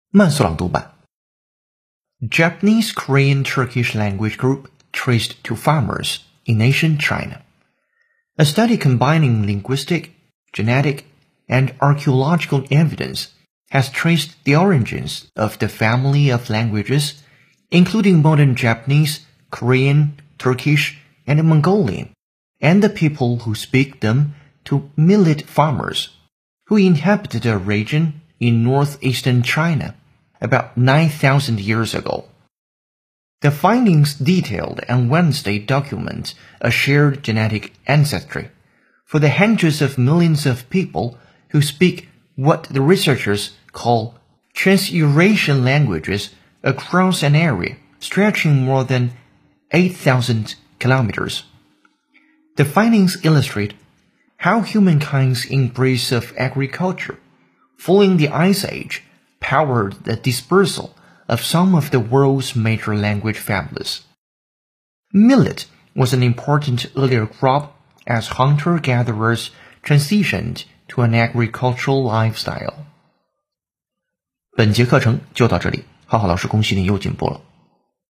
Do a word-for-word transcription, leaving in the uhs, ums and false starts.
慢速朗读版 Japanese Korean Turkish language group traced to farmers in ancient China. A study combining linguistic, genetic, and archaeological evidence has traced the origins of the family of languages, including modern Japanese, Korean, Turkish, and Mongolian, and the people who speak them to millet farmers, who inhabited a region in northeastern China about nine thousand years ago. The findings detailed on Wednesday document a shared genetic ancestry for the hundreds of millions of people who speak what the researchers call trans-Eurasian languages across an area stretching more than eight thousand kilometers. The findings illustrate how humankind's embrace of agriculture following the Ice Age powered the dispersal of some of the world's major language families. Millet was an important earlier crop as hunter-gatherers transitioned to an agricultural lifestyle. 本节课程就到这里，浩浩老师恭喜你又进步了。